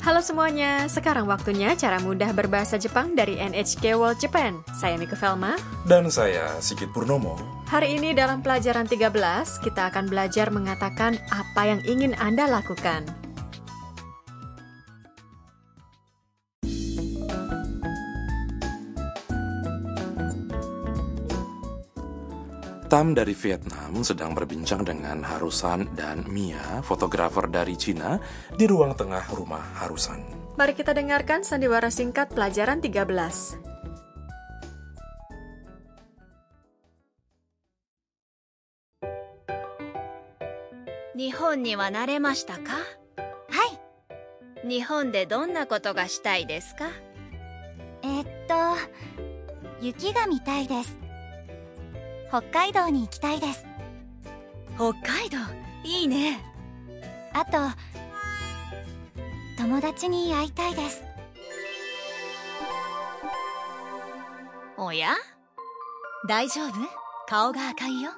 Halo semuanya, sekarang waktunya cara mudah berbahasa Jepang dari NHK World Japan. Saya Mika Velma. Dan saya Sigit Purnomo. Hari ini dalam pelajaran 13, kita akan belajar mengatakan apa yang ingin Anda lakukan. Tam dari Vietnam sedang berbincang dengan Harusan dan Mia, fotografer dari Cina, di ruang tengah rumah Harusan. Mari kita dengarkan sandiwara singkat pelajaran 13. 日本には慣れましたか？ はい。 日本でどんなことがしたいですか？ 雪が見たいです。北海道に行きたいです。 北海道、いいね。 あと、友達に会いたいです。 おや？大丈夫？顔が赤いよ。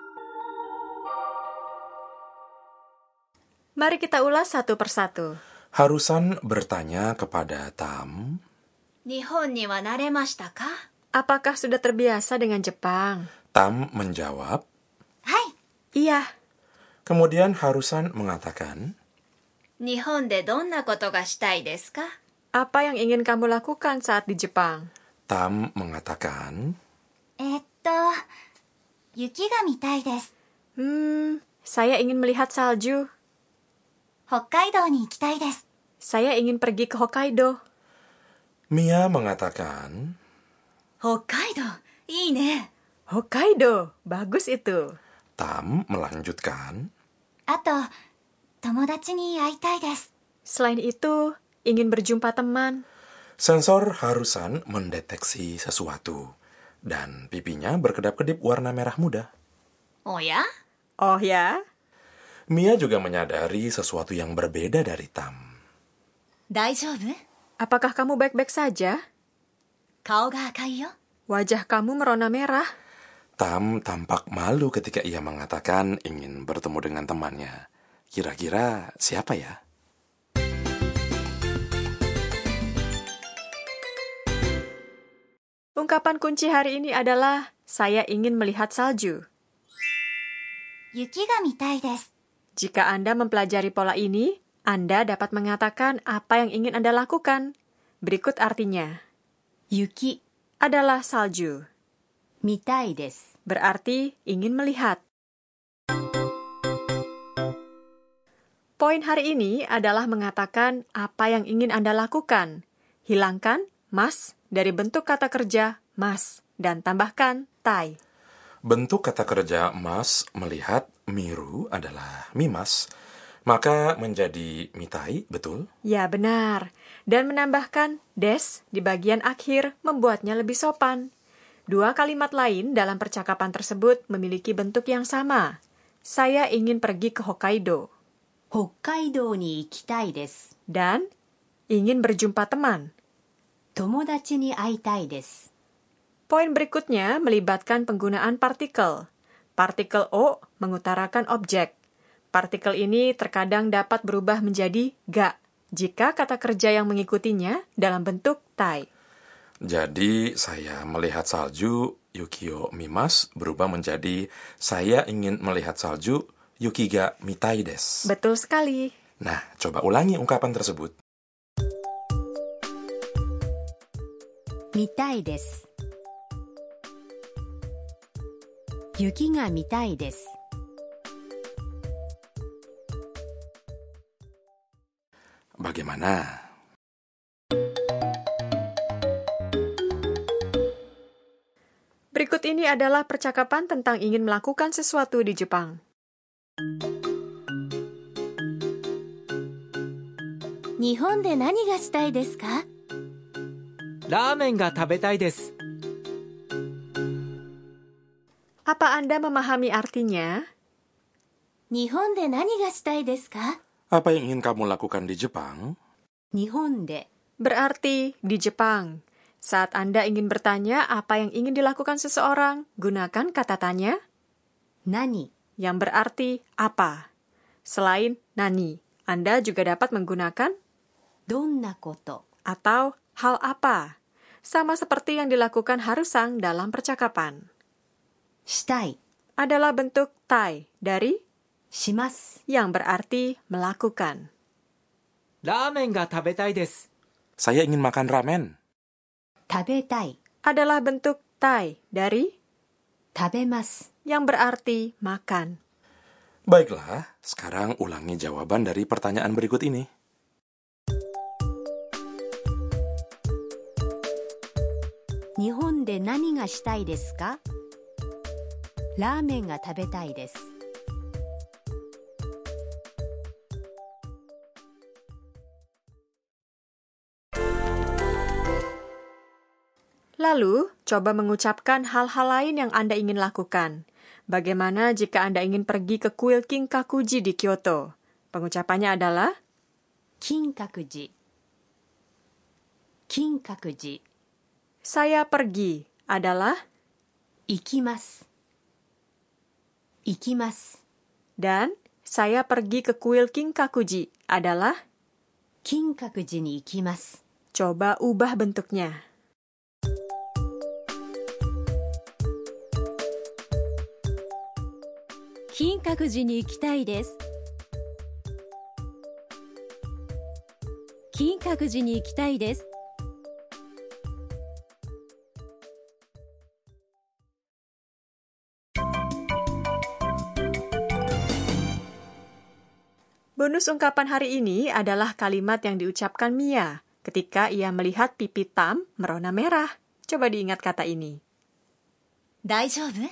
Mari kita ulas satu persatu. Harusan bertanya kepada Tam, 日本には慣れましたか？ Apakah sudah terbiasa dengan Jepang? Tam menjawab, はい。 Iya. kemudian Harusan mengatakan, 日本でどんなことがしたいですか？ Apa yang ingin kamu lakukan saat di Jepang? Tam mengatakan, 雪が見たいです。 Saya ingin melihat salju. 北海道に行きたいです。 Saya ingin pergi ke Hokkaido. Mia mengatakan, 北海道、いいね。 Hokkaido, bagus itu. Tam melanjutkan, あと、友達に会いたいです。 Selain itu, ingin berjumpa teman. sensor Harusan mendeteksi sesuatu, dan pipinya berkedap-kedip warna merah muda. おや？ Oh ya? Mia juga menyadari sesuatu yang berbeda dari Tam. 大丈夫？ Apakah kamu baik-baik saja? 顔が赤いよ。 Wajah kamu merona merah. Tam tampak malu ketika ia mengatakan ingin bertemu dengan temannya. Kira-kira siapa ya? Ungkapan kunci hari ini adalah saya ingin melihat salju. 雪が見たいです。 Jika Anda mempelajari pola ini, Anda dapat mengatakan apa yang ingin Anda lakukan. Berikut artinya. 雪、 Adalah salju. 見たいです。 Berarti ingin melihat. Poin hari ini adalah mengatakan apa yang ingin Anda lakukan. Hilangkan mas dari bentuk kata kerja mas dan tambahkan tai. Bentuk kata kerja mas melihat miru adalah mimas, maka menjadi mitai, betul? Ya, benar. Dan menambahkan des di bagian akhir membuatnya lebih sopan. Dua kalimat lain dalam percakapan tersebut memiliki bentuk yang sama. Saya ingin pergi ke Hokkaido. 北海道に行きたいです。 Dan ingin berjumpa teman. 友達に会いたいです。 Poin berikutnya melibatkan penggunaan partikel. Partikel O mengutarakan objek. Partikel ini terkadang dapat berubah menjadi ga jika kata kerja yang mengikutinya dalam bentuk tai. Jadi, saya melihat salju, Yukio mimas, berubah menjadi saya ingin melihat salju, Yuki ga mitai desu. Betul sekali. Nah, coba ulangi ungkapan tersebut. 見たいです。雪が見たいです。 Bagaimana? Berikut ini adalah percakapan tentang ingin melakukan sesuatu di Jepang. 日本で何がしたいですか？ ラーメンが食べたいです。 Apa Anda memahami artinya? 日本で何がしたいですか？ Apa yang ingin kamu lakukan di Jepang? 日本で Berarti di Jepang. Saat Anda ingin bertanya apa yang ingin dilakukan seseorang, gunakan kata tanya 何 yang berarti apa. Selain nani, Anda juga dapat menggunakan どんなこと atau hal apa. Sama seperti yang dilakukan Harusang dalam percakapan. したい Adalah bentuk tai dari します yang berarti melakukan. ラーメンが食べたいです Saya ingin makan ramen. 食べたい Adalah bentuk tai dari 食べます yang berarti makan. Baiklah, sekarang ulangi jawaban dari pertanyaan berikut ini. 日本で何がしたいですかラーメンが食べたいです Lalu, coba mengucapkan hal-hal lain yang Anda ingin lakukan. Bagaimana jika Anda ingin pergi ke kuil Kinkakuji di Kyoto? Pengucapannya adalah 金閣寺金閣寺 saya pergi adalah 行きます行きます dan saya pergi ke kuil Kinkakuji adalah 金閣寺に行きます coba ubah bentuknya. 金閣寺に行きたいです金閣寺に行きたいです Bonus ungkapan hari ini adalah kalimat yang diucapkan Mia ketika ia melihat pipi Tam merona merah. Coba diingat kata ini. 大丈夫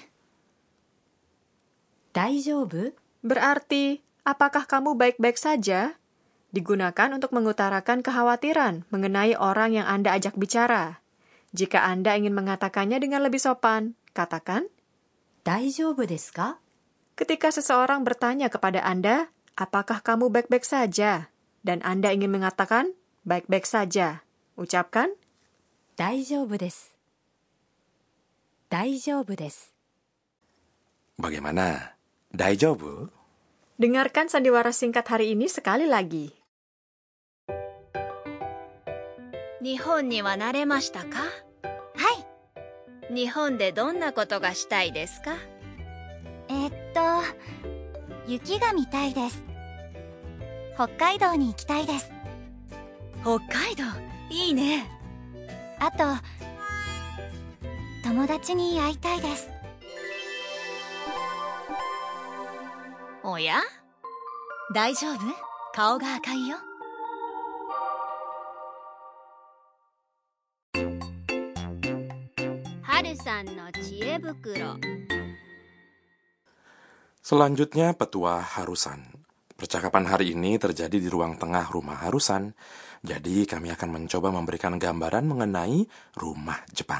大丈夫 Berarti, apakah kamu baik-baik saja? Digunakan untuk mengutarakan kekhawatiran mengenai orang yang Anda ajak bicara. Jika Anda ingin mengatakannya dengan lebih sopan, katakan, 大丈夫ですか ketika seseorang bertanya kepada Anda, apakah kamu baik-baik saja? Dan Anda ingin mengatakan, baik-baik saja. Ucapkan, 大丈夫です大丈夫です Bagaimana? Daijoubu? dengarkan sandiwara singkat hari ini sekali lagi. 日本には慣れましたかはい日本でどんなことがしたいですか雪が見たいです北海道に行きたいです北海道いいねあと友達に会いたいですおや大丈夫顔が赤いよ Harusan no Chie Bukuro. Selanjutnya petua Harusan. Percakapan hari ini terjadi di ruang tengah rumah Harusan. Jadi kami akan mencoba memberikan gambaran mengenai rumah Jepang.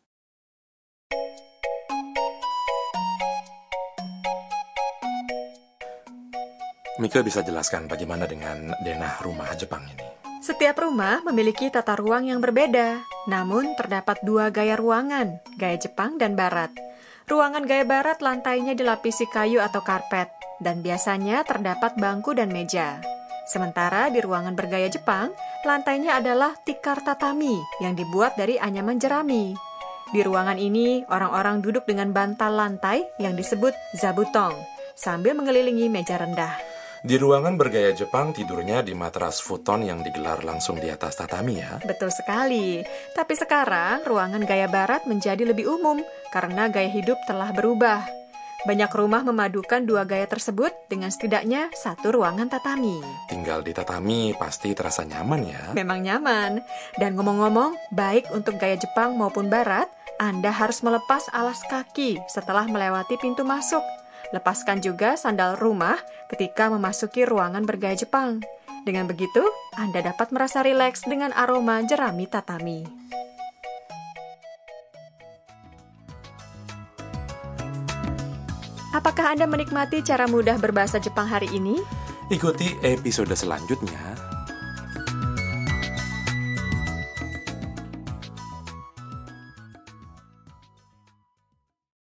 Mika bisa jelaskan bagaimana dengan denah rumah Jepang ini? Setiap rumah memiliki tata ruang yang berbeda, namun terdapat dua gaya ruangan, gaya Jepang dan Barat. Ruangan gaya Barat lantainya dilapisi kayu atau karpet, dan biasanya terdapat bangku dan meja. Sementara di ruangan bergaya Jepang, lantainya adalah tikar tatami yang dibuat dari anyaman jerami. Di ruangan ini, orang-orang duduk dengan bantal lantai yang disebut zabutong, sambil mengelilingi meja rendah. Di ruangan bergaya Jepang tidurnya di matras futon yang digelar langsung di atas tatami ya. Betul sekali. Tapi sekarang ruangan gaya Barat menjadi lebih umum karena gaya hidup telah berubah. Banyak rumah memadukan dua gaya tersebut dengan setidaknya satu ruangan tatami. Tinggal di tatami pasti terasa nyaman ya. Memang nyaman. Dan ngomong-ngomong, baik untuk gaya Jepang maupun Barat, Anda harus melepas alas kaki setelah melewati pintu masuk. Lepaskan juga sandal rumah ketika memasuki ruangan bergaya Jepang. Dengan begitu, Anda dapat merasa rileks dengan aroma jerami tatami. Apakah Anda menikmati cara mudah berbahasa Jepang hari ini? Ikuti episode selanjutnya